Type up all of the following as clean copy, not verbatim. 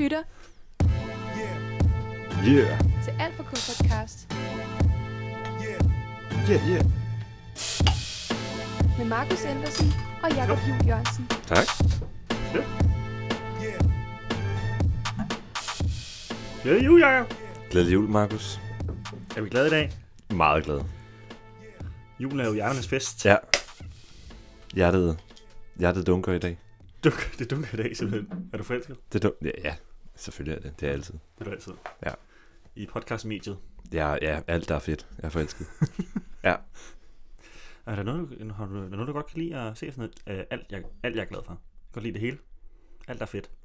lytter til Alt for K podcast med Markus Andersen og Jakob Juhl Jørgensen. Tak. Glædelig jul, Jakob. Glædelig jul, Markus. Er vi glade i dag? Meget glad. Julen er jo hjerternes fest. Ja. Hjertet dunker i dag. Det dunker i dag, simpelthen. Er du forelsket? Ja, selvfølgelig er det. Det er altid. Det er du altid. Ja. I podcastmediet. Ja, alt der er fedt. Jeg er forelsket. Ja. Er der noget, du godt kan lide at se sådan noget? Alt jeg er glad for. Godt lide det hele. Alt er fedt.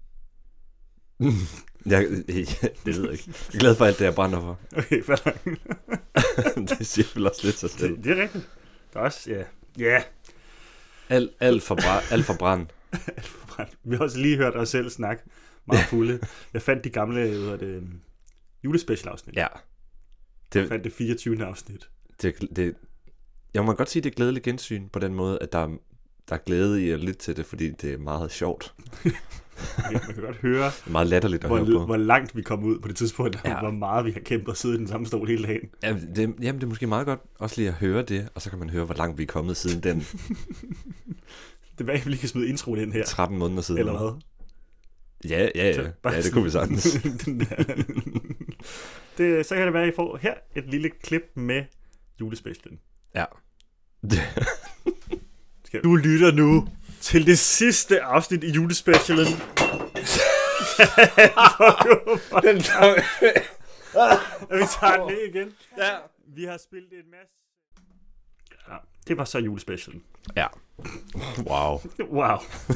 Det ved jeg ikke. Jeg er glad for alt det, jeg brænder for. Okay, fair. Det siger vel også lidt sig selv. Det er rigtigt. Der er også, ja. Alt for brand. Alt for brændt. Vi har også lige hørt os selv snakke meget fulde. Jeg fandt de gamle julespecial-afsnit. Ja. Jeg fandt det 24. afsnit. Jeg må godt sige, det er glædeligt gensyn på den måde, at der er glæde i at lytte til det, fordi det er meget sjovt. Man kan godt høre, det er meget latterligt at høre på. Hvor langt vi kom ud på det tidspunkt, og hvor meget vi har kæmpet og siddet i den samme stol hele dagen. Det er måske meget godt også lige at høre det, og så kan man høre, hvor langt vi er kommet siden den. Det var, at vi lige kan smide introen ind her. 13 måneder siden. Eller hvad? Ja, det kunne vi sagtens. Så kan det være, at I får her et lille klip med julespecialen. Ja. Du lytter nu til det sidste afsnit i julespecialen. Vi tager den ned igen. Ja. Vi har spillet en masse. Ja, det var så julespecialen. Ja. Wow.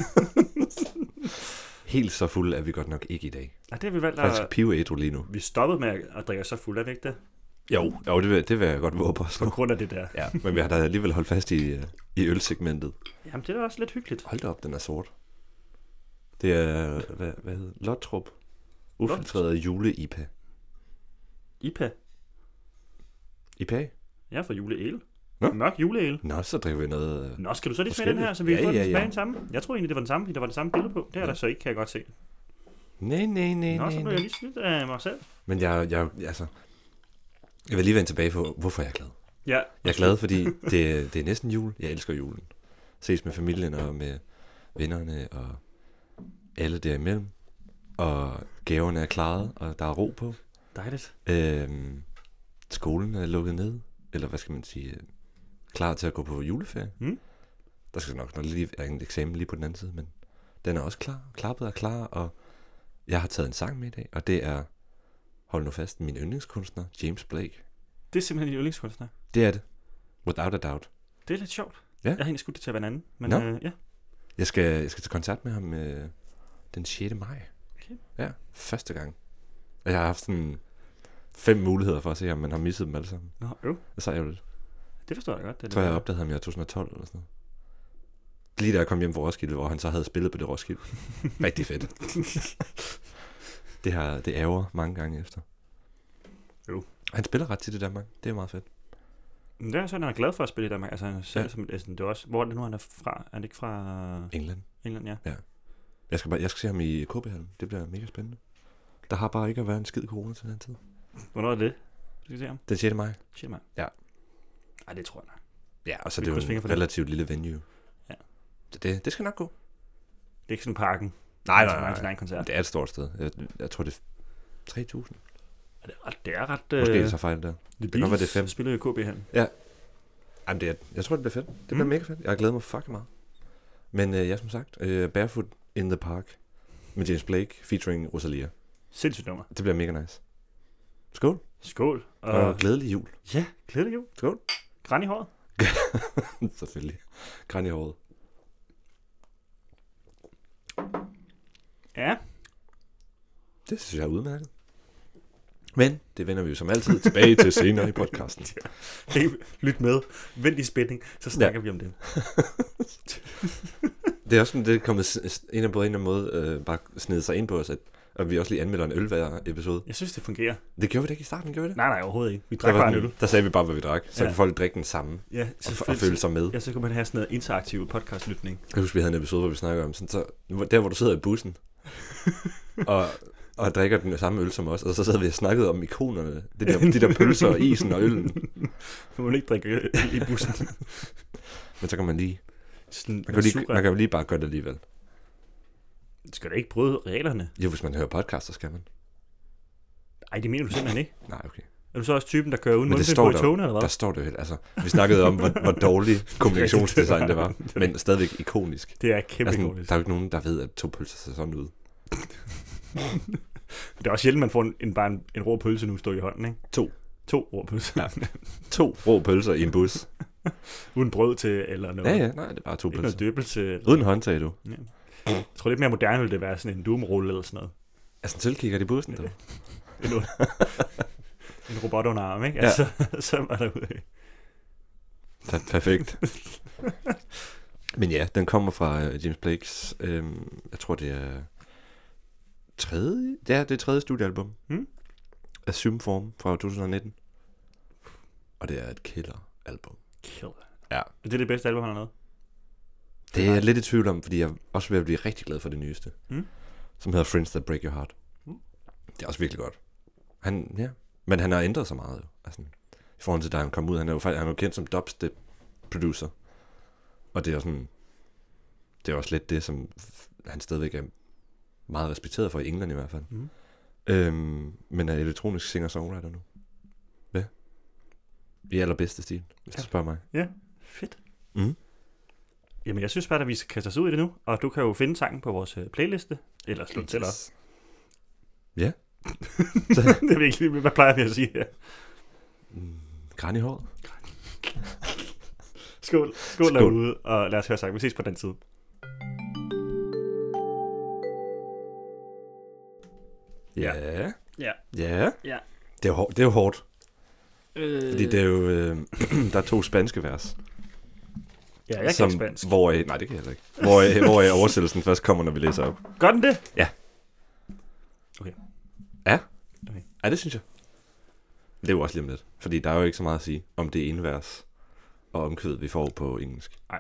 Helt så fuld er vi godt nok ikke i dag. Ja, det har vi valgt faktisk piveædru lige nu. Vi stoppede med at drikke så fuld, er det ikke det? Jo, det vil jeg godt våge på. På grund af det der. Ja, men vi har da alligevel holdt fast i ølsegmentet. Jamen, det er også lidt hyggeligt. Hold da op, den er sort. Det er, hvad hedder Lottrup. Ufiltreret jule-IPA. IPA? IPA? Ja, for juleæl. Nå? Mørk juleæl. Nå, så drikker vi noget. Nå, skal du så lige smage den her, så vi får den tilbage samme? Jeg tror egentlig, det var den samme, fordi der var det samme billede på. Det er der så ikke, kan jeg godt se. Nej. Nå, så blev jeg lige snydt af mig selv. Men jeg vil lige vende tilbage på, hvorfor jeg er glad. Ja. Jeg er glad, fordi det er næsten jul. Jeg elsker julen. Ses med familien og med vennerne og alle derimellem. Og gaverne er klaret, og der er ro på. Dejligt. Skolen er lukket ned. Eller hvad skal man sige? Klar til at gå på juleferie. Der skal nok lige være en eksamen lige på den anden side, men den er også klar. Klappet er klar, og jeg har taget en sang med i dag, og det er, hold nu fast, min yndlingskunstner, James Blake. Det er simpelthen din yndlingskunstner? Det er det. Without a doubt. Det er lidt sjovt. Ja. Jeg har egentlig skudt det til at være en anden, men ja. Jeg skal til koncert med ham den 6. maj. Okay. Ja, første gang. Og jeg har haft sådan 5 muligheder for at se ham, men har misset dem alle sammen. Nå, Så er jeg jo lidt. Det forstår jeg godt. Jeg tror, jeg opdagede ham i 2012 eller sådan noget. Lige da jeg kom hjem fra Roskilde, hvor han så havde spillet på det Roskilde. Rigtig fedt. Det ærger mange gange efter. Jo. Han spiller ret tit i Danmark. Det er meget fedt. Det er sådan, han er glad for at spille i Danmark. Altså, han selv som det er også. Hvor er det nu, han er fra? Er det ikke fra England, ja. Jeg skal se ham i KB-hallen. Det bliver mega spændende. Der har bare ikke været en skid corona til den tid. Hvornår er det? Du skal se ham? Den 6. maj. 6. maj? Ja. Ej, det tror jeg nok. Ja, og så det er jo en relativt lille venue. Ja. Så det skal nok gå. Det er ikke sådan parken. Nej. Sin egen koncert. Det er et stort sted. Jeg tror, det er 3.000. Det er ret... Måske jeg tager fejl der. Det kan godt være, det er 5. Spiller i KB-hallen. Ja. Jamen, jeg tror, det bliver fedt. Det bliver mega fedt. Jeg har glædet mig fucking meget. Men ja, som sagt, Barefoot in the Park med James Blake featuring Rosalia. Sindssygt nummer. Det bliver mega nice. Skål. Skål. Og glædelig jul. Ja, glædelig jul. Skål. Græn i håret. Selvfølgelig. Græn i håret. Ja. Det synes jeg er udmærket. Men det vender vi jo som altid tilbage til senere i podcasten. Lyt med. Vent i spænding, så snakker vi om det. Det er også sådan, det er kommet på en eller anden måde bare snede sig ind på os, at vi også lige anmelder en øl hver episode. Jeg synes, det fungerer. Det gjorde vi da ikke i starten, gjorde vi det? Nej, overhovedet ikke. Vi drak bare en øl. Der sagde vi bare, hvad vi drak. Så kunne folk drikke den samme og føle sig med. Ja, så kunne man have sådan noget interaktiv podcastlytning. Jeg husker, vi havde en episode, hvor vi snakker om sådan, så der, hvor du sidder i bussen, og drikker den samme øl som os, og så sad vi og snakkede om ikonerne, de der pølser og isen og øllen. Du må ikke drikke øl i bussen. Men så kan man lige, Sådan, man kan jo lige bare gøre det alligevel. Skal du ikke bryde reglerne? Jo, hvis man hører podcast, så skal man. Ej, det mener du simpelthen ikke. Nej, okay. Er du så også typen, der kører uden Men det mundbind står på i togene, eller hvad? Der står det jo helt. Altså, vi snakkede om, hvor dårlig kommunikationsdesign det var, men stadigvæk ikonisk. Det er kæmpe Altså, ikonisk. der er jo ikke nogen, der ved, at 2 pølser ser sådan ud. Det er også sjældent, man får en rå pølse nu stå i hånden, ikke? 2 rå pølser. Ja. 2 rå pølser i en bus. Uden brød til, eller noget. Ja, nej, det er bare 2 Ikke pølser. noget døbelse. Eller... Uden håndtag, du. Ja. Jeg tror lidt mere moderne ville det være sådan en doomrulle eller sådan noget. Altså, en sølvkigger i bussen, du. En robot under arm, ikke? Ja. Altså, så var der ude. Perfekt. Men ja, den kommer fra James Blakes, jeg tror det er tredje studiealbum. Assume Form fra 2019. Og det er et killer-album. Killer. Ja. Det er det bedste album, han har lavet? Det er jeg lidt i tvivl om, fordi jeg også vil blive rigtig glad for det nyeste. Som hedder Friends That Break Your Heart. Det er også virkelig godt. Men han har ændret sig meget jo. Altså, i forhold til da han kom ud. Han er jo kendt som dubstep producer. Og det er sådan, det er også lidt det, som han stadigvæk er meget respekteret for i England i hvert fald. Men er elektronisk singer-songwriter nu. Ja. I allerbedste stil, hvis du spørger mig. Ja, fedt. Jamen, jeg synes bare, at vi skal kaste os ud i det nu. Og du kan jo finde sangen på vores playliste. Eller slå til op. Ja. Det er virkelig, hvad plejer vi at sige her? Græn i håret. Skål derude, og lad os høre sang. Vi ses på den tid. Ja. Ja. Det er jo hårdt. Fordi det er jo, der er 2 spanske vers. Ja, jeg kan spansk. Nej, det kan jeg heller ikke. Hvor oversættelsen først kommer, når vi læser op. Gør den det? Ja. Okay. Ja? Okay. Ja, det synes jeg. Det er jo også lige om lidt. Fordi der er jo ikke så meget at sige om det ene vers og omkvædet, vi får på engelsk. Nej.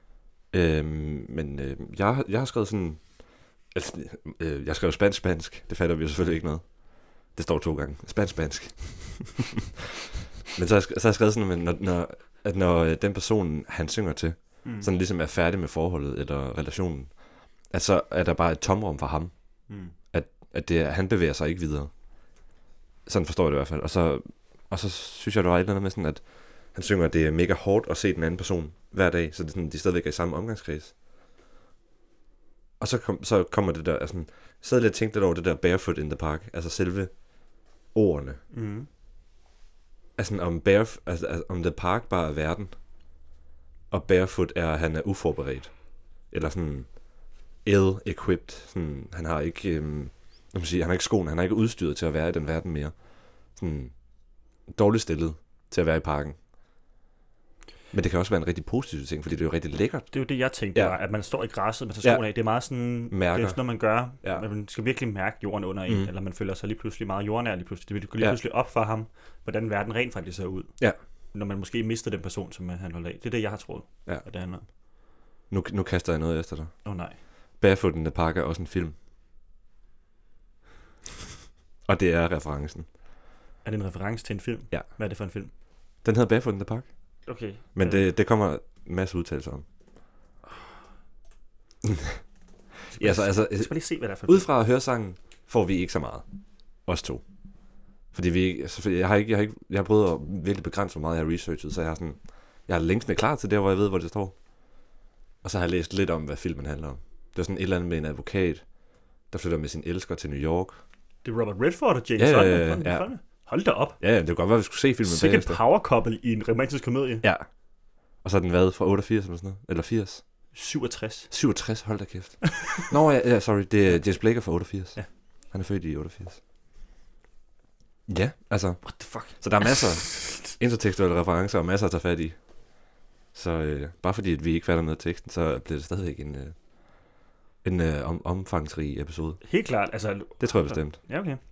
Men jeg har skrevet sådan... Altså, jeg skrev spansk. Det fatter vi jo selvfølgelig ikke noget. Det står 2 gange. Spansk. Men så har jeg skrevet sådan, at når den person, han synger til, sådan ligesom er færdig med forholdet eller relationen, at så er der bare et tomrum for ham. At han bevæger sig ikke videre. Sådan forstår jeg det i hvert fald. Og så synes jeg, der var et eller andet med sådan, at han synger, at det er mega hårdt at se den anden person hver dag, så det er sådan, de stadigvæk er i samme omgangskreds. Og så kommer det der, altså, jeg sad lidt og tænkte lidt over det der barefoot in the park, altså selve ordene. Altså om the park bare er verden, og barefoot er, at han er uforberedt. Eller sådan ill-equipped. Sådan, han har ikke, han har ikke skoen, han har ikke udstyret til at være i den verden mere. Sådan dårligt stillet til at være i parken. Men det kan også være en rigtig positiv ting, fordi det er jo rigtig lækkert. Det er jo det, jeg tænkte, var, at man står i græsset med skoene af. Det er meget sådan, mærker. Det er sådan noget, man gør. Ja. Man skal virkelig mærke jorden under en, eller man føler sig lige pludselig meget jordnær lige pludselig. Det går lige pludselig op for ham, hvordan verden rent faktisk ser ud. Ja. Når man måske mister den person, som han holder af. Det er det, jeg har troet, at det handler om. Nu kaster jeg noget efter dig. Nej. Barefoot in the Park er også en film. Og det er referencen. Er det en reference til en film? Ja. Hvad er det for en film? Den hedder Barefoot in the Park. Okay. Men det kommer en masse udtalelser om. Jeg skal bare lige se, hvad det er for ud fra at høre sangen, får vi ikke så meget. Os 2. Fordi jeg har prøvet at virkelig begrænse, hvor meget jeg har researchet, så jeg har linksene klar til der, hvor jeg ved, hvor det står. Og så har jeg læst lidt om, hvad filmen handler om. Det er sådan et eller andet med en advokat, der flytter med sin elsker til New York. Det er Robert Redford og James Bond. Ja. Hold da op. Ja, det kunne godt være, vi skulle se filmen bagefter. Sikke power couple i en romantisk komedie. Ja. Og så er den været fra 88 eller sådan noget. Eller 80. 67. 67, hold da kæft. Nå ja, sorry, det er James Blake fra 88. Ja. Han er født i 88. Ja, altså. What the fuck? Så der er masser af intertekstuelle referencer og masser at tage fat i. Så bare fordi at vi ikke fatter noget af teksten, så bliver det stadigvæk en omfangsrig episode. Helt klart, altså. Det tror jeg bestemt. Ja, okay.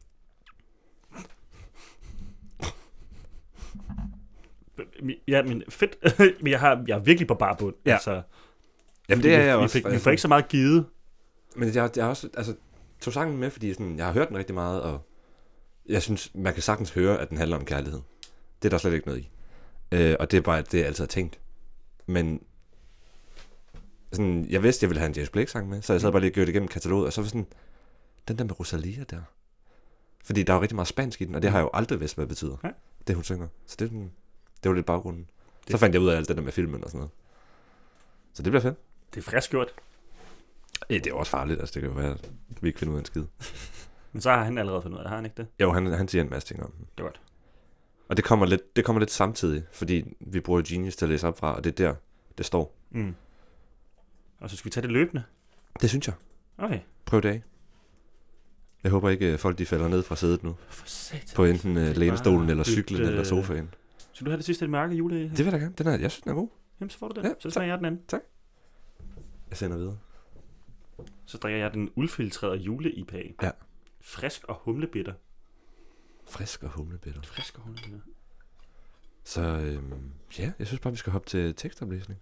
Ja, men fedt. Men jeg er virkelig på bar bund. Ja. Altså, jamen det er jeg også. Vi får ikke så meget givet. Men jeg er også, altså, tog sangen med, fordi sådan, jeg har hørt den rigtig meget, og jeg synes, man kan sagtens høre, at den handler om kærlighed. Det er der slet ikke noget i. Og det er bare det, jeg altid har tænkt. Men sådan, jeg vidste, jeg ville have en James Blake-sang med, så jeg sad bare lige og gjorde det igennem kataloget, og så var sådan, den der med Rosalia der. Fordi der er jo rigtig meget spansk i den, og det har jeg jo aldrig vidst, hvad det betyder. Ja. Det hun synger. Så det var lidt baggrunden. Så fandt jeg ud af alt det der med filmen og sådan noget. Så det bliver fedt. Det er frisk gjort. Ja, det er også farligt, altså det kan jo være, at vi ikke finder ud af en skid. Men så har han allerede fundet ud af det, har han ikke det? Jo, han siger en masse ting om den. Det er godt. Og det kommer lidt samtidig, fordi vi bruger Genius til at læse op fra, og det er der, det står. Mm. Og så skal vi tage det løbende. Det synes jeg. Okay. Prøv det af. Jeg håber ikke, folk de falder ned fra sædet nu. For satan. På enten lænestolen, eller cyklen, eller sofaen. Så du har det sidste mørke jule? Det vil jeg da gerne. Jeg synes, den er god. Jamen, så får du den. Ja, Så smager jeg den anden. Jeg sender videre. Så drikker jeg den ulfiltrerede jule-IPA. Ja. Frisk og humlebitter. Frisk og humlebitter. Frisk og humlebitter. Så ja, jeg synes bare, vi skal hoppe til tekstoplæsning.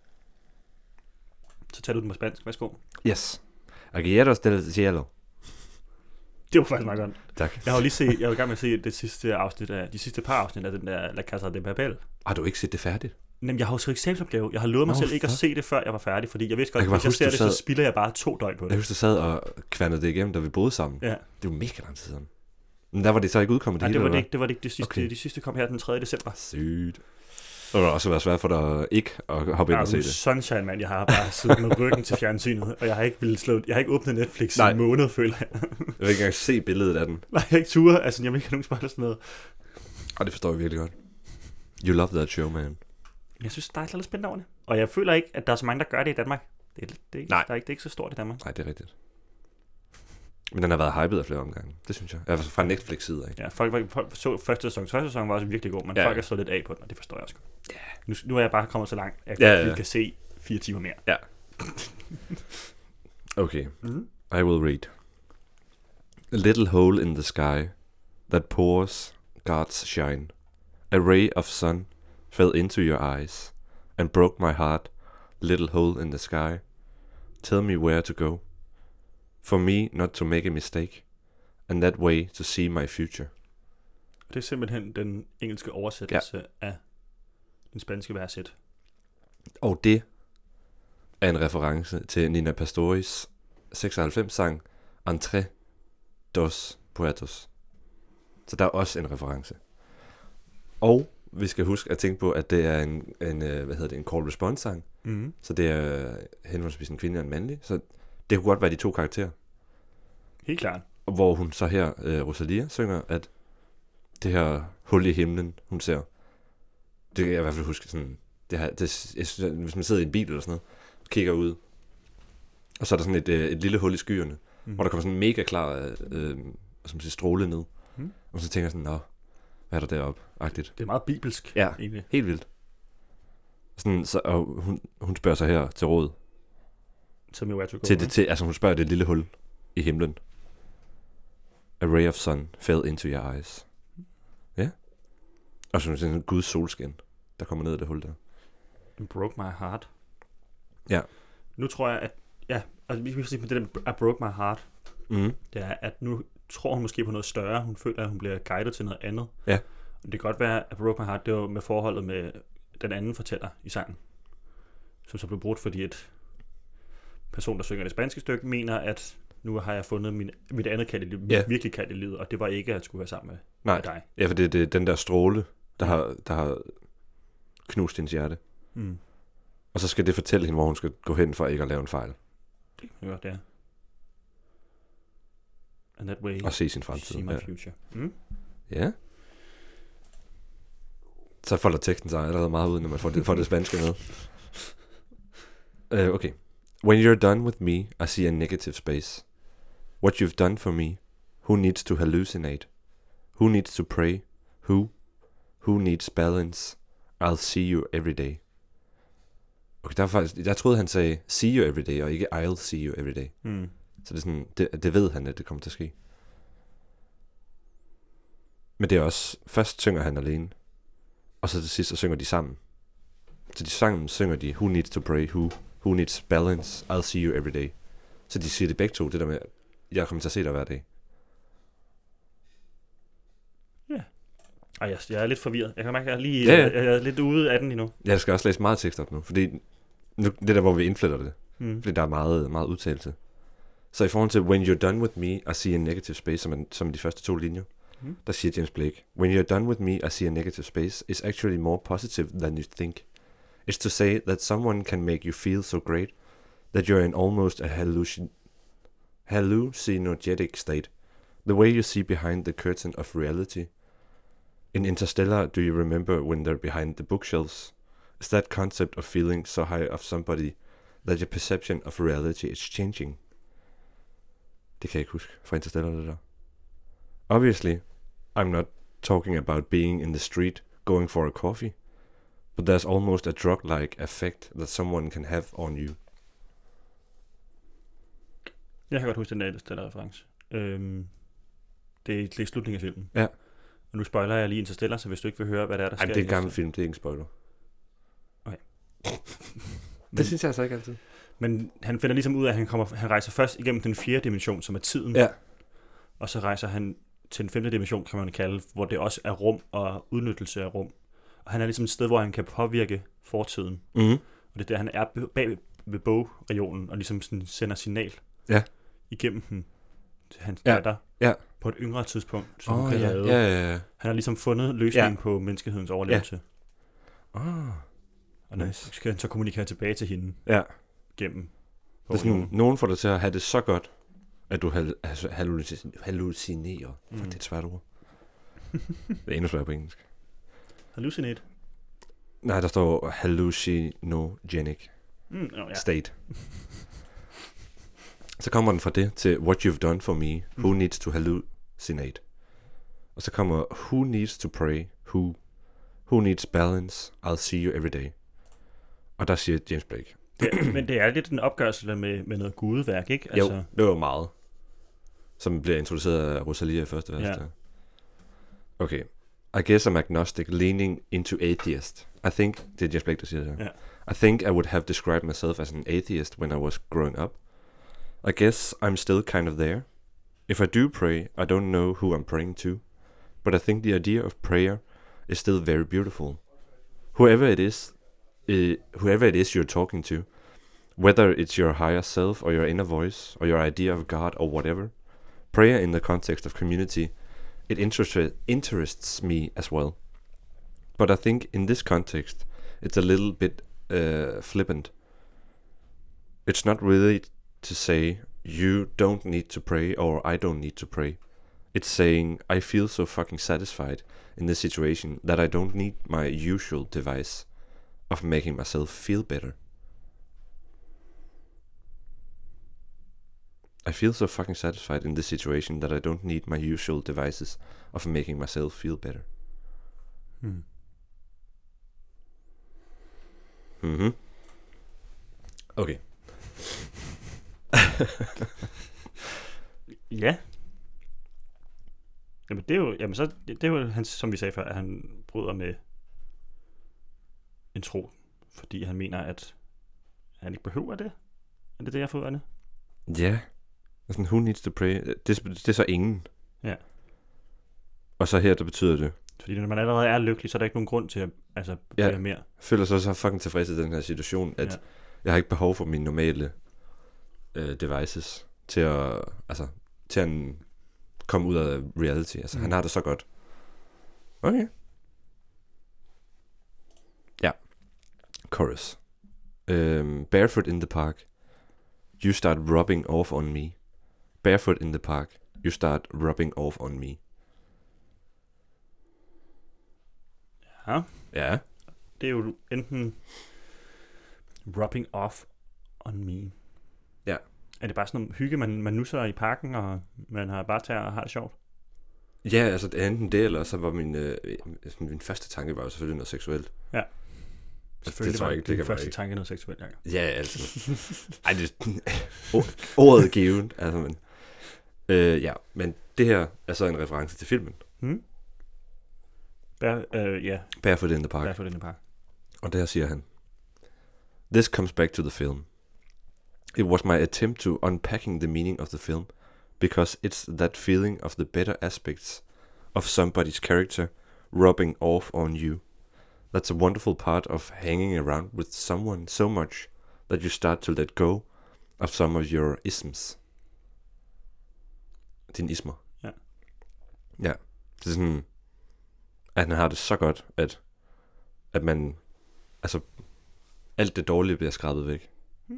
Så tager du den på spansk. Værsgo. Yes. Aguilleros del cielo. Det var faktisk meget godt. Tak. Jeg var i gang med at se de sidste par afsnit af den der La Casa de Papel. Har du ikke set det færdigt? Jamen, jeg har jo så eksamensopgave. Jeg har lovet mig selv ikke at se det, før jeg var færdig, fordi jeg vidste godt, at hvis jeg ser det, så spilder jeg bare 2 døgn på det. Jeg husker, du sad og kværnede det igennem, da vi boede sammen. Ja. Det var mega lang tid siden. Men der var det så ikke udkommet. Nej, det var det ikke det sidste. Okay. De sidste kom her den 3. december. Sygt. Det var også været svært for dig ikke at hoppe ind og se det. Sunshine, man. Jeg har bare siddet med ryggen til fjernsynet, og jeg har ikke åbnet Netflix i en måned, føler jeg. Jeg vil ikke engang se billedet af den. Nej, jeg har ikke ture. Altså, jeg vil ikke have nogen spørgsmål sådan noget. Og det forstår jeg virkelig godt. You love that show, man. Jeg synes, der er lidt spændende over det. Og jeg føler ikke, at der er så mange, der gør det i Danmark. Det er ikke så stort i Danmark. Nej, det er rigtigt. Men den har været hyped af flere omgange. Det synes jeg. Altså fra Netflix-side af. Ja, folk så første sæson. Første sæson var også virkelig god, men folk er så lidt af på den, og det forstår jeg også godt. Yeah. Nu er jeg bare kommet så langt, at jeg kan se 4 timer mere. Ja. Okay. I will read. A little hole in the sky that pours God's shine. A ray of sun fell into your eyes and broke my heart. Little hole in the sky. Tell me where to go. For me not to make a mistake. And that way to see my future. Det er simpelthen den engelske oversættelse af den spanske verset. Og det er en reference til Nina Pastoris 96-sang Entre dos Puertos. Så der er også en reference. Og vi skal huske at tænke på, at det er en call response sang. Mm-hmm. Så det er henholdsvis en kvinde og en mandlig. Så det kunne godt være de 2 karakterer. Helt klart. Hvor hun så her, Rosalia, synger, at det her hul i himlen, hun ser, det kan jeg i hvert fald huske sådan, jeg synes, hvis man sidder i en bil eller sådan noget, kigger ud, og så er der sådan et lille hul i skyerne, hvor der kommer sådan en mega klar stråle ned. Og så tænker jeg sådan, nå, hvad er der deroppe? Agtigt. Det er meget bibelsk. Ja, egentlig. Helt vildt. Sådan, så, og hun spørger sig her til råd. Som jo er altså hun spørger det lille hul i himlen. A ray of sun fell into your eyes. Ja. Og så er sådan en Guds solskin, der kommer ned i det hul der. It broke my heart. Ja. Nu tror jeg, at altså vi skal sige på det der, I broke my heart. Det er, at nu tror hun måske på noget større. Hun føler, at hun bliver guidet til noget andet. Ja. Det kan godt være, at broke my heart, det var med forholdet med den anden fortæller i sangen. Som så blev brudt, fordi et person, der synger det spanske stykke, mener, at nu har jeg fundet mit andet kald i livet, mit virkelig kald i livet, og det var ikke, at jeg skulle være sammen med dig. Ja, for det er den der stråle, der har knust hendes hjerte. Og så skal det fortælle hende, hvor hun skal gå hen for ikke at lave en fejl. Det kan godt, det er. And that way, og se sin fremtid. See my future. Ja. Så folder teksten sig allerede meget ud, når man får det spanske med. Okay. When you're done with me, I see a negative space. What you've done for me, who needs to hallucinate? Who needs to pray? Who needs balance? I'll see you every day. Okay, der var faktisk, jeg troede, han sagde, see you every day, og ikke I'll see you every day. Så det er sådan, det ved han, at det kommer til at ske. Men det er også, først synger han alene, og så til sidst, så synger de sammen. Så de sammen synger de, who needs to pray, who needs balance, I'll see you every day. Så de siger det begge to, det der med, jeg kommer til at se dig hver dag. Ej, jeg er lidt forvirret. Jeg kan mærke, at jeg er lidt ude af den endnu. Jeg skal også læse meget tekst op nu, fordi nu, det der, hvor vi indfletter det. Fordi der er meget, meget udtalelse. Så i forhold til When you're done with me, I see a negative space, som de første 2 linjer, der siger James Blake, When you're done with me, I see a negative space is actually more positive than you think. It's to say that someone can make you feel so great that you're in almost a hallucinogenic state. The way you see behind the curtain of reality. In Interstellar, do you remember when they're behind the bookshelves? Is that concept of feeling so high of somebody that your perception of reality is changing? Det kan jeg ikke huske fra Interstellar, det der. Obviously, I'm not talking about being in the street going for a coffee, but there's almost a drug-like effect that someone can have on you. Jeg kan godt huske den der Interstellar-reference. Det er slutningen af filmen. Ja. Og nu spoiler jeg lige Interstellar, så hvis du ikke vil høre, hvad der sker. Ej, det er en gammel film, det er ikke en spoiler. Okay. Det synes jeg altså ikke altid. Men han finder ligesom ud af, at han rejser først igennem den 4. dimension, som er tiden. Ja. Og så rejser han til den 5. dimension, kan man kalde, hvor det også er rum og udnyttelse af rum. Og han er ligesom et sted, hvor han kan påvirke fortiden. Mm-hmm. Og det er der, han er bag ved bogregionen og ligesom sådan sender signal igennem den til hans datter på et yngre tidspunkt, som hun kan redde. Ja. Han har ligesom fundet løsningen på menneskehedens overlevelse. Og nice. skal han så kommunikere tilbage til hende gennem. Det er sådan, nogen får dig til at have det så godt, at du hallucinerer. Det er et svært ord. Det er endnu sværere på engelsk. Hallucinate? Nej, der står hallucinogenic state. Så kommer den fra det til What you've done for me. Who needs to hallucinate? Og så kommer Who needs to pray? Who needs balance? I'll see you every day. Og der siger James Blake. Men det er lidt en opgørelse med noget gudeværk, ikke? Altså... Jo, det var meget. Som bliver introduceret af Rosalia i første vers. Ja. Okay. I guess I'm agnostic, leaning into atheist. I think, det er James Blake, der siger det her. Yeah. I think I would have described myself as an atheist when I was growing up. I guess I'm still kind of there. If I do pray, I don't know who I'm praying to. But I think the idea of prayer is still very beautiful. Whoever it is you're talking to, whether it's your higher self or your inner voice or your idea of God or whatever, prayer in the context of community, it interests me as well. But I think in this context, it's a little bit flippant. It's not really to say you don't need to pray or I don't need to pray. It's saying I feel so fucking satisfied in this situation that I don't need my usual device of making myself feel better. I feel so fucking satisfied in this situation that I don't need my usual devices of making myself feel better. Mhm. Okay. Ja. Jamen det er jo hans, som vi sagde før, at han bryder med en tro, fordi han mener, at han ikke behøver det. Er det det, jeg får ud af det? Ja. Sådan, who needs to pray? Det er så ingen. Ja. Og så her, der betyder det. Fordi når man allerede er lykkelig, så er der ikke nogen grund til at bede mere. Jeg føler så fucking tilfreds i den her situation, at jeg har ikke behov for mine normale devices til at komme ud af reality. Altså, han har det så godt. Okay. Ja. Chorus. Barefoot in the park. You start rubbing off on me. Barefoot in the park. You start rubbing off on me. Ja. Ja. Det er jo enten rubbing off on me. Ja. Er det bare sådan noget hygge, man nusser i parken, og man har bare taget og har det sjovt? Ja, altså det er enten det, eller så var min første tanke var jo selvfølgelig noget seksuelt. Ja. Selvfølgelig det tror jeg ikke, det kan første tanke noget seksuelt, Jacob. Ja, altså. Ej, ordet er givet, altså, men... ja, men det her er så en reference til filmen. Barefoot in the Park. Barefoot in the Park. Og der siger han, This comes back to the film. It was my attempt to unpacking the meaning of the film, because it's that feeling of the better aspects of somebody's character rubbing off on you. That's a wonderful part of hanging around with someone so much that you start to let go of some of your isms. Dine ismer. Ja. Ja. Det er sådan, at han har det så godt, at man, altså, alt det dårlige bliver skrabet væk.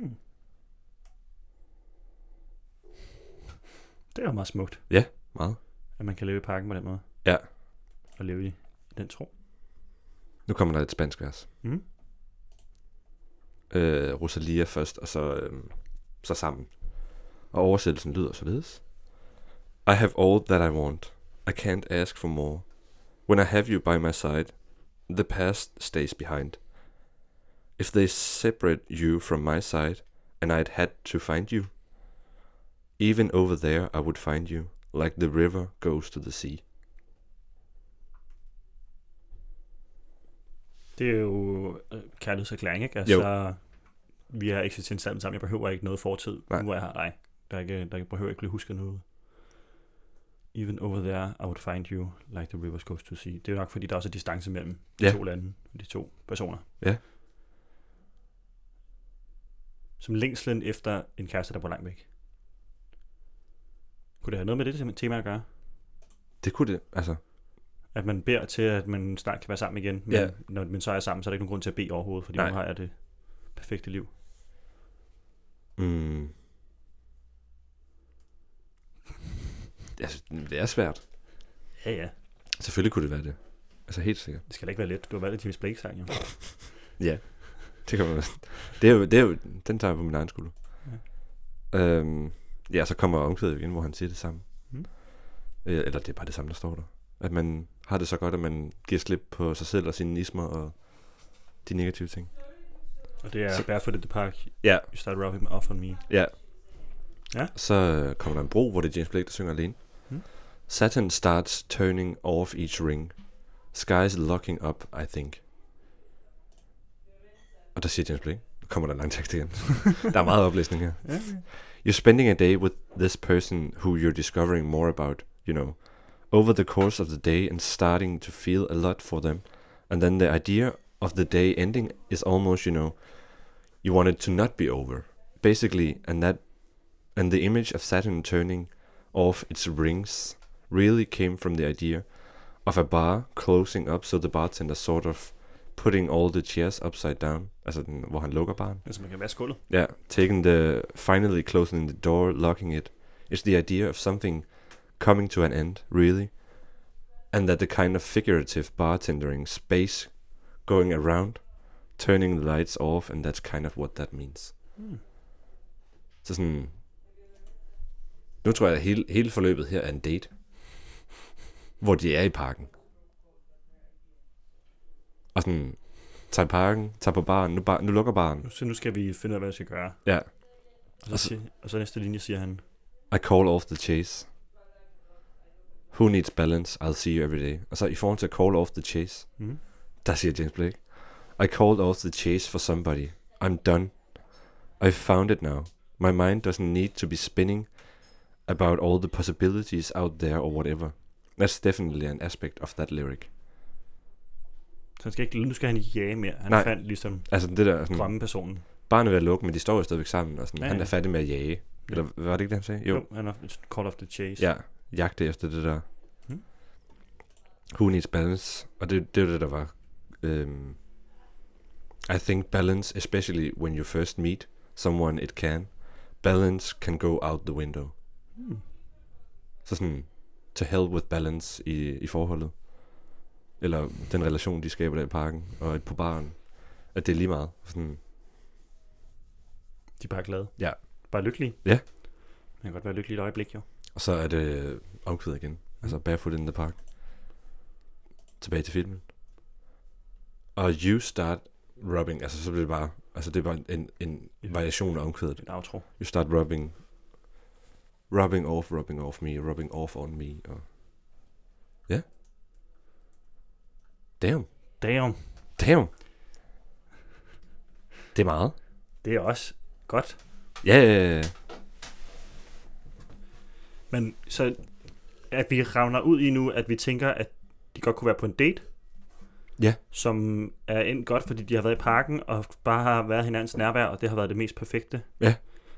Det er jo meget smukt, Ja, meget. at man kan leve i parken på den måde. Ja. Og leve i den tro. Nu kommer der et spansk vers. Mm. Rosalia først, og så sammen. Og oversættelsen lyder således. I have all that I want. I can't ask for more. When I have you by my side, the past stays behind. If they separate you from my side, and I'd had to find you, even over there I would find you, like the river goes to the sea. Det er jo kærlighedserklæring, ikke? Altså, vi har eksisteret sammen. Jeg behøver ikke noget fortid, nu hvor jeg har dig. Der behøver ikke blive husket noget. Even over there, I would find you, like the rivers goes to sea. Det er jo nok, fordi der også er distance mellem de to lande, de to personer. Ja. Som længslen efter en kæreste, der bor langt væk. Kunne det have noget med det tema at gøre? Det kunne det, altså. At man beder til, at man snart kan være sammen igen, men når man så er sammen, så er der ikke nogen grund til at bede overhovedet, fordi nu har jeg det perfekte liv. Altså, det er svært. Ja. Selvfølgelig kunne det være det. Altså helt sikkert. Det skal da ikke være let. Du har valgt et James Blake-sang, jo. Ja, det kan man. Det er jo den tager jeg på min egen skulder. Ja. Så kommer omkvædet igen, hvor han siger det samme. Eller det er bare det samme, der står der. At man har det så godt, at man giver slip på sig selv og sine ismer og de negative ting. Og det er Barefoot in the Park. Ja. You start rubbing off on me. Ja. Ja. Så kommer der en bro, hvor det er James Blake, der synger alene. Saturn starts turning off each ring. Sky's locking up, I think. Og der siger James Blake. Nu kommer der en lang tekst igen. Der er meget oplæsning her. You're spending a day with this person who you're discovering more about, you know, over the course of the day and starting to feel a lot for them. And then the idea of the day ending is almost, you know, you want it to not be over. Basically, and the image of Saturn turning off its rings really came from the idea of a bar closing up, so the bartender sort of putting all the chairs upside down, altså den, hvor han lukker baren. Altså man kan vaske gulvet. Yeah, finally closing the door, locking it. It's the idea of something coming to an end, really. And that the kind of figurative bartendering space going around, turning the lights off, and that's kind of what that means. Så sådan, nu tror jeg, at hele forløbet her er en date, hvor de er i parken. Og sådan, tager i parken, tager på baren, nu lukker baren. Så nu skal vi finde ud af, hvad vi skal gøre. Ja. Og så næste linje siger han, I call off the chase. Who needs balance? I'll see you every day. Og så i forhold til at call off the chase, der siger James Blake, I called off the chase for somebody. I'm done. I've found it now. My mind doesn't need to be spinning about all the possibilities out there or whatever. That's definitely an aspect of that lyric. Så nu skal han ikke jage mere. Han fandt ligesom altså det der sådan, drømmepersonen. Barnet er ved at lukke, men de står jo stadigvæk sammen. Og sådan, Ja. Han er færdig med at jage. Eller var det ikke det, han sagde? Jo, han har call off the chase. Ja, jagte efter det der. Who needs balance? Og det er det, der var. I think balance, especially when you first meet someone it can. Balance can go out the window. Så sådan, to hell with balance i forholdet. Eller den relation, de skaber der i parken og på baren. At det er lige meget. Sådan. De er bare glade. Ja. Bare lykkelige. Ja. Man kan godt være lykkelig i et øjeblik, jo. Og så er det omkvædet igen. Altså Barefoot in the Park. Tilbage til filmen. Og you start rubbing. Altså så bliver det bare. Altså det er bare en variation af omkvædet. En outro. You start rubbing off me, rubbing off on me. Og ja. Damn. Det er meget. Det er også godt. Ja. Men så at vi ravner ud i nu, at vi tænker, at de godt kunne være på en date. Ja. Som er endt godt, fordi de har været i parken, og bare har været hinandens nærvær, og det har været det mest perfekte. Ja.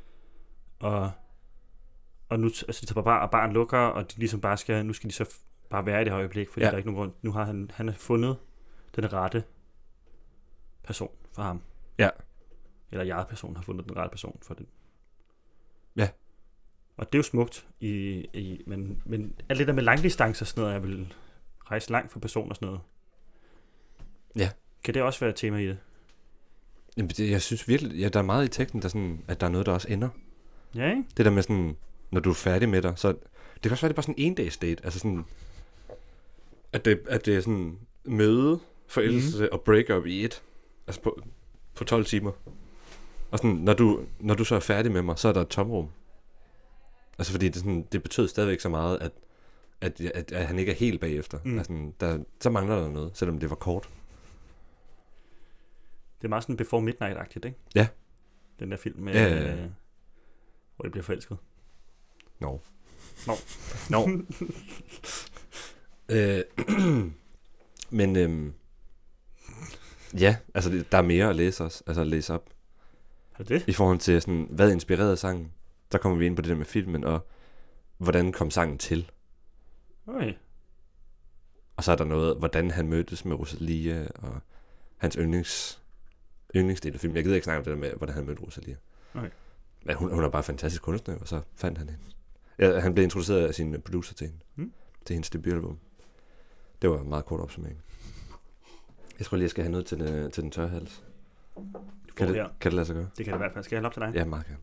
Og nu altså, de tager bare, og barn lukker, og de ligesom bare skal, nu skal de så bare være i det her øjeblik, fordi der er ikke nogen grund. Nu har han har fundet den rette person for ham. Ja. Eller jeg-person har fundet den rette person for den. Ja. Og det er jo smukt, men alt det der med langdistance og sådan noget, jeg vil rejse langt for person og sådan noget. Ja. Kan det også være et tema i det? Jamen, jeg synes virkelig, der er meget i teksten, der sådan, at der er noget, der også ender. Ja, ikke? Det der med sådan, når du er færdig med dig, så det kan også være, det er bare sådan en dags date, altså sådan, at det er sådan møde, forelskelse og break-up i et, altså på 12 timer. Og sådan, når du så er færdig med mig, så er der et tomrum. Altså fordi det betød stadigvæk så meget, at han ikke er helt bagefter. Altså, så mangler der noget, selvom det var kort. Det er meget sådan Before Midnight-agtigt, ikke? Ja. Den der film med, hvor det bliver forelsket. No. Men ja, altså der er mere at læse også, altså at læse op. Er det? I forhold til sådan, hvad inspirerede sangen? Der kommer vi ind på det der med filmen, og hvordan kom sangen til? Okay. Og så er der noget, hvordan han mødtes med Rosalia, og hans yndlingsdel af filmen. Jeg gider ikke snakke om det der med, hvordan han mødte Rosalia. Okay. Men hun er bare fantastisk kunstner, og så fandt han hende. Ja, han blev introduceret af sin producer til hende. Til hendes debutalbum. Det var en meget kort opsummering. Jeg tror lige, jeg skal have noget til den tørre hals. Kan det lade sig gøre? Det kan det i hvert fald. Skal jeg hælde op til dig? Ja, meget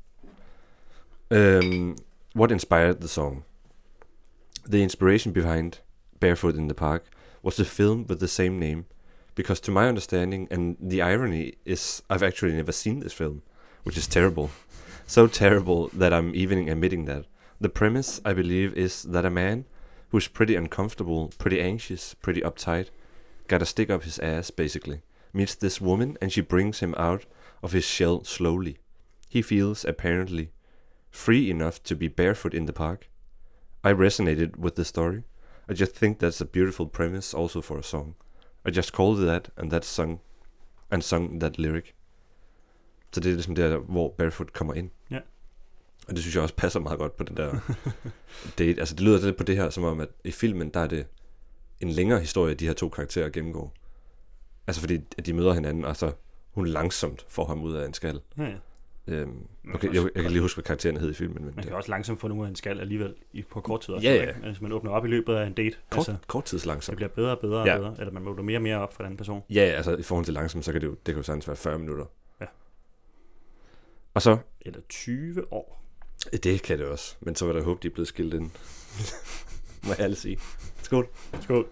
gerne. What inspired the song? The inspiration behind Barefoot in the Park was the film with the same name, because to my understanding, and the irony is I've actually never seen this film, which is terrible. So terrible that I'm even admitting that. The premise, I believe, is that a man who's pretty uncomfortable, pretty anxious, pretty uptight, gotta stick up his ass, basically, meets this woman and she brings him out of his shell slowly. He feels, apparently, free enough to be barefoot in the park. I resonated with the story. I just think that's a beautiful premise also for a song. I just called it that, and sung that lyric. Så det er ligesom der, hvor barefoot kommer ind. Ja. Og det synes jeg også passer meget godt på den der date. Altså det lyder lidt på det her, som om at i filmen, der er det en længere historie, de her to karakterer gennemgår. Altså fordi at de møder hinanden, og så hun langsomt får ham ud af en skal. Ja. Okay, jeg kan lige huske, hvad karakteren hed i filmen. Men man kan også langsomt få nogen af en skal alligevel på kort tid også. Ja. Altså man åbner op i løbet af en date. Kort tids langsomt. Det bliver bedre og bedre og bedre. Eller man åbner mere og mere op for den person. Ja, altså i forhold til langsomt, så kan det kan jo sagtens være 40 minutter. Ja. Og så... Eller 20 år. Det kan det også. Men så var der håb, de er blevet skilt ind. Må jeg alle sige. Skål. Skål.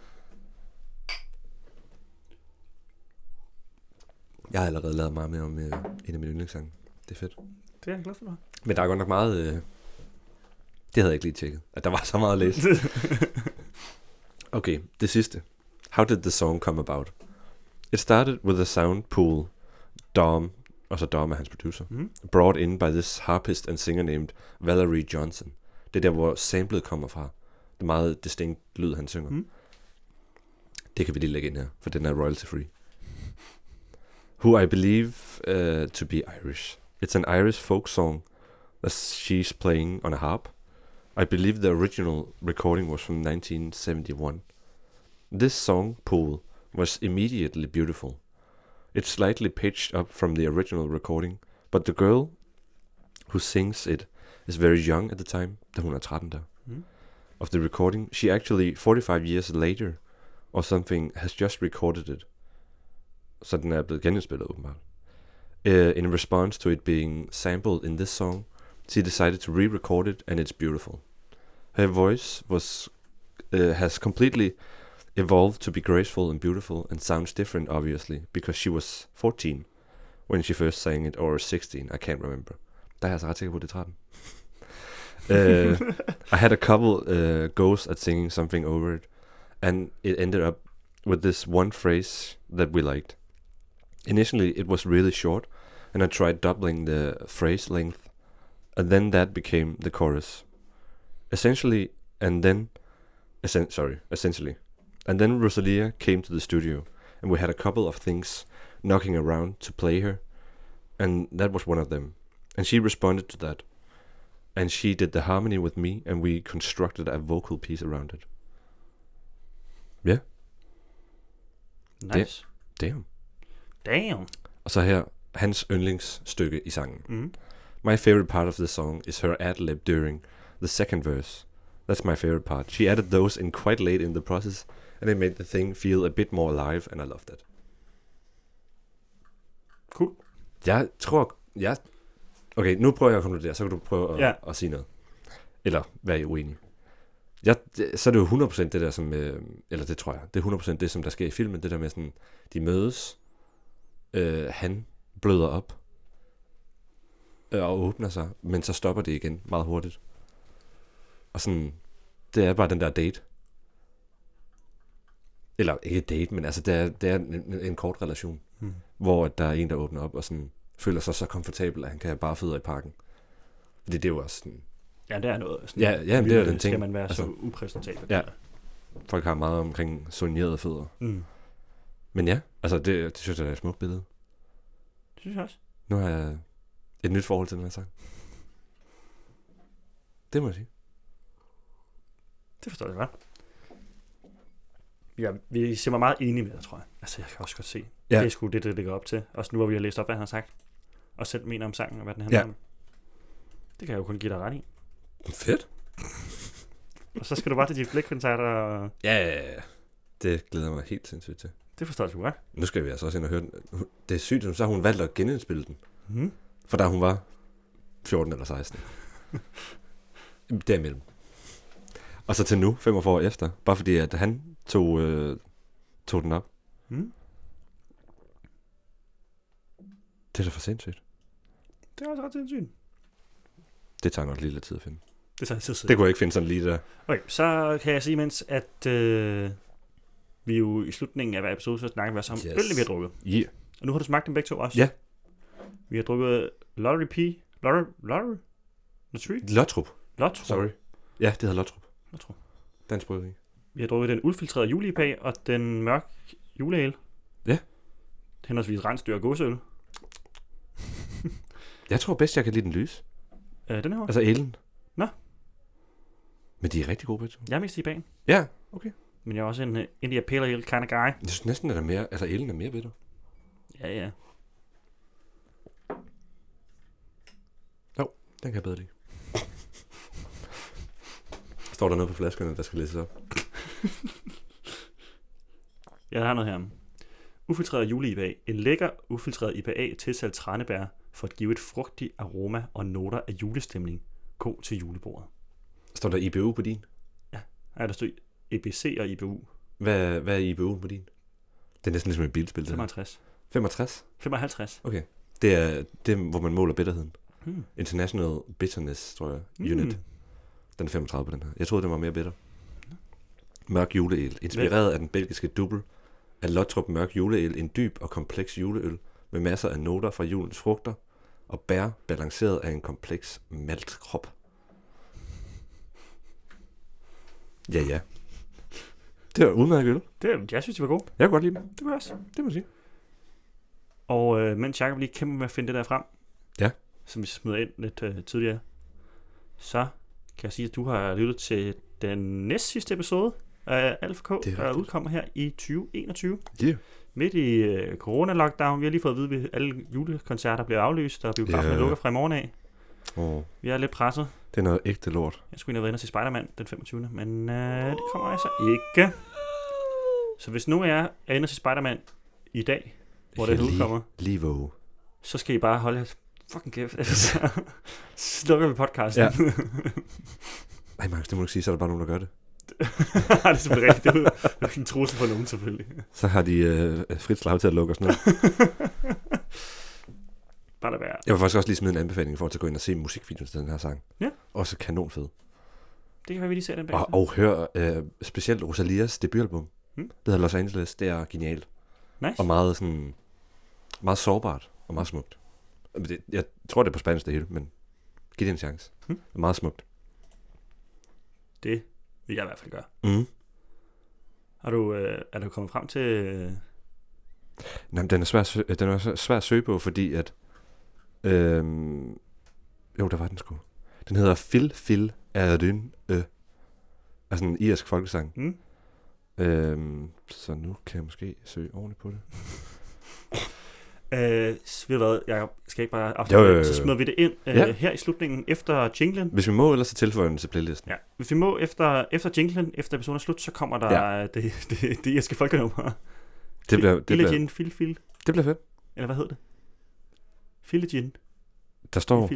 Jeg har allerede lavet meget mere om en af mine yndlingssange. Det er fedt. Det er jeg glad for dig. Men der er godt nok meget... det havde jeg ikke lige tjekket. At der var så meget at læse. Okay, det sidste. How did the song come about? It started with a sound pool Dom, og så Dom er hans producer, brought in by this harpist and singer named Valerie Johnson. Det er der, hvor samplet kommer fra. Det er meget distinkt lyd, han synger. Det kan vi lige lægge ind her, for den er royalty free. Who I believe to be Irish. It's an Irish folk song that she's playing on a harp. I believe the original recording was from 1971. This song pool was immediately beautiful. It's slightly pitched up from the original recording, but the girl who sings it is very young at the time, da hun er 13 der, of the recording. She actually, 45 years later, or something, has just recorded it. Så den er blevet genindspillet åbenbart. In response to it being sampled in this song, she decided to re-record it, and it's beautiful. Her voice has completely evolved to be graceful and beautiful, and sounds different, obviously, because she was 14 when she first sang it, or 16, I can't remember. Der er jeg altså ret sikker på, at det er 13. I had a couple goes at singing something over it, and it ended up with this one phrase that we liked. Initially, it was really short, and I tried doubling the phrase length, and then that became the chorus. Essentially. And then Rosalia came to the studio, and we had a couple of things knocking around to play her, and that was one of them. And she responded to that, and she did the harmony with me, and we constructed a vocal piece around it. Yeah. Nice. Damn. Og så her, hans yndlingsstykke i sangen. Mm. My favorite part of the song is her ad-lib during the second verse. That's my favorite part. She added those in quite late in the process, and it made the thing feel a bit more alive, and I love that. Cool. Jeg tror... Okay, nu prøver jeg at konkludere, så kan du prøve at sige noget. Eller være uenig. Så er det jo 100% det der, som... eller det tror jeg. Det er 100% det, som der sker i filmen. Det der med sådan... De mødes. Han bløder op. Og åbner sig. Men så stopper det igen meget hurtigt. Og sådan... Det er bare den der date. Eller ikke date, men altså det er en kort relation. Hvor der er en, der åbner op og sådan... føler sig så komfortabel, at han kan have bare fødder i parken. Fordi det er jo også sådan... Ja, det er noget. Sådan, ja, men det er den ting. Skal man være altså, så upræsentabel? Ja. Folk har meget omkring soignerede fødder. Mm. Men ja, altså det synes jeg er et smukt billede. Det synes jeg også. Nu har jeg et nyt forhold til den her sang. Det må jeg sige. Det forstår jeg godt. Ja, vi ser mig meget enige med det, tror jeg. Altså, jeg kan også godt se. Ja. Det er sgu det ligger op til. Også nu, hvor vi har læst op, hvad han har sagt. Og selv mener om sangen, og hvad den handler om. Det kan jeg jo kun give dig ret i. Fedt. Og så skal du bare til de blikkoncerter. Og... Ja. Det glæder mig helt sindssygt til. Det forstår jeg sgu godt. Nu skal vi altså også ind og høre den. Det er sygt, så har hun valgt at genindspille den. Mm. For da hun var 14 eller 16. Derimellem. Og så til nu, 45 år efter. Bare fordi, at han tog den op. Mm. Det er da for sindssygt. Det er også ret sindssygt. Det tager nok lige lidt tid at finde. Det tager tid at det kunne jeg ikke finde sådan lige der. Okay, så kan jeg sige, mens at vi jo i slutningen af hver episode, så snakker vi også om ølene, vi har drukket. Yeah. Og nu har du smagt dem begge to også. Ja. Yeah. Vi har drukket Lottrup. Sorry. Ja, det hedder Lottrup. Dansk bryggeri. Vi har drukket den uldfiltrerede jule-IPA og den mørk juleale. Ja. Henholdsvis rensdyr og gåseøl. Jeg tror bedst, jeg kan lide den lys. Den her? Altså elen. Nå. Men de er rigtig gode begge. Jeg er mest i bagen. Ja, okay. Men jeg er også en India Pale Ale kind of guy. Jeg synes næsten, at der er mere, altså elen er mere bitter. Ja. Jo, den kan jeg bedre lide. Står der noget på flaskerne, der skal læses op? Jeg har noget her. Ufiltreret jule-IPA. En lækker ufiltreret IPA tilsat tranebær for at give et frugtigt aroma og noter af julestemning. God til julebordet. Står der IBU på din? Ja, der står EBC og IBU. Hvad er IBU på din? Det er næsten ligesom et bilspil. 55. 65? 55. Okay. Det er, hvor man måler bitterheden. International Bitterness, tror jeg. Unit. Den er 35 på den her. Jeg troede, det var mere bitter. Mørk juleøl. Inspireret af den belgiske dubbel af Lottrup Mørk Juleøl. En dyb og kompleks juleøl med masser af noter fra julens frugter og bær balanceret af en kompleks maltkrop. Ja. Det var udmærket øl. Jeg synes, de var gode. Jeg kan godt lide dem. Det var også. Det må jeg sige. Og mens Jacob lige kæmper med at finde det der frem, som vi smider ind lidt tidligere, så kan jeg sige, at du har lyttet til den næst sidste episode af Alpha K, der udkommer her i 2021. Yeah. Midt i corona-lockdown. Vi har lige fået at vide, at alle julekoncerter bliver aflyst, og biografen lukker fra i morgen af. Vi er lidt presset. Det er noget ægte lort. Jeg skulle ind og være inde og se Spider-Man den 25. Men det kommer altså ikke. Så hvis nu er inde og se Spider-Man i dag, hvor det udkommer, så skal I bare holde jeres fucking kæft. Så slukker vi podcasten. Ja. Ej, Markus, det må du ikke sige, så er der bare nogen, der gør det. Det er selvfølgelig rigtigt. Det er ikke en trussel for nogen, selvfølgelig. Så har de frit slag til at lukke os ned. Bare lad være. Jeg vil faktisk også lige smide en anbefaling i forhold til at gå ind og se musikvideoen til den her sang. Ja. Også kanonfed. Det kan være, vi lige ser den bag. Og hør specielt Rosalias debutalbum. Det hedder Los Angeles. Det er genialt. Nice. Og meget sårbart og meget smukt. Jeg tror, det er på spansk det hele, men giv det en chance. Det er meget smukt. Det vil jeg i hvert fald gøre. Mm. Er du kommet frem til... Nej, den er svær at søge på, fordi at... jo, der var den sgu. Den hedder Fil Erdyn. Altså en irsk folkesang. Mm? Så nu kan jeg måske søge ordentligt på det. Ved du hvad, jeg skal ikke bare afsløre, Jo. så smider vi det ind her i slutningen efter jinglen. Hvis vi må, ellers så tilføjer den til playlisten. Ja, hvis vi må, efter jinglen, efter episoden er slut, så kommer der det irske folkenummer. Det bliver fedt. Eller hvad hedder det? Filegin. Der står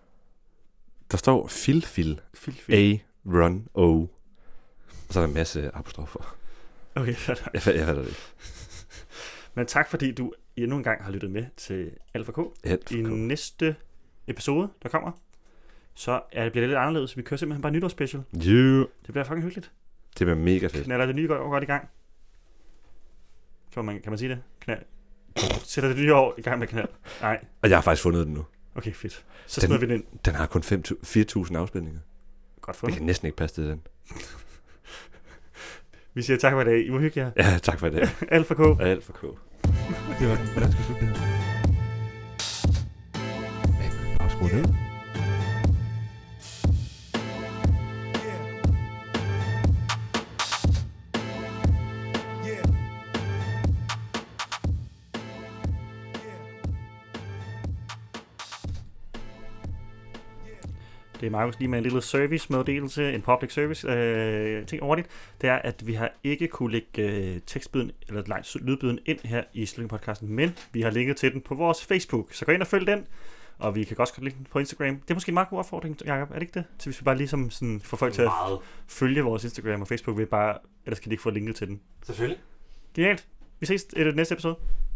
Fil. A, Run, O. Og så er der en masse apostrofer. Okay, Jeg fatter det ikke. Men tak fordi du endnu en gang har lyttet med til Alfa K. I næste episode, der kommer, så bliver det lidt anderledes. Vi kører simpelthen bare nytårsspecial. Yeah. Det bliver fucking hyggeligt. Det bliver mega fedt. Knaller det nye år godt i gang. Kan man sige det? Sætter det nye år i gang med knald? Nej. Og jeg har faktisk fundet den nu. Okay, fedt. Så smider vi den ind. Den har kun 4.000 afspilninger. Godt fundet. Det kan næsten ikke passe til den. Vi siger tak for i dag. I må hygge jer. Ja, tak for i dag. Alfa K. Alfa K. Hvordan skal vi slutte det her? Bare skru ned. Det er Markus lige med en lille service-meddelelse, en public service ting over det. Det er, at vi har ikke kunne lægge tekstbiden eller lydbiden ind her i Slutningen-podcasten, men vi har linket til den på vores Facebook. Så gå ind og følg den, og vi kan også godt linke den på Instagram. Det er måske en meget god opfordring, Jacob, er det ikke det? Så hvis vi bare ligesom sådan får folk til at følge vores Instagram og Facebook, ellers kan de ikke få linket til den. Selvfølgelig. Genialt. Vi ses i det næste episode.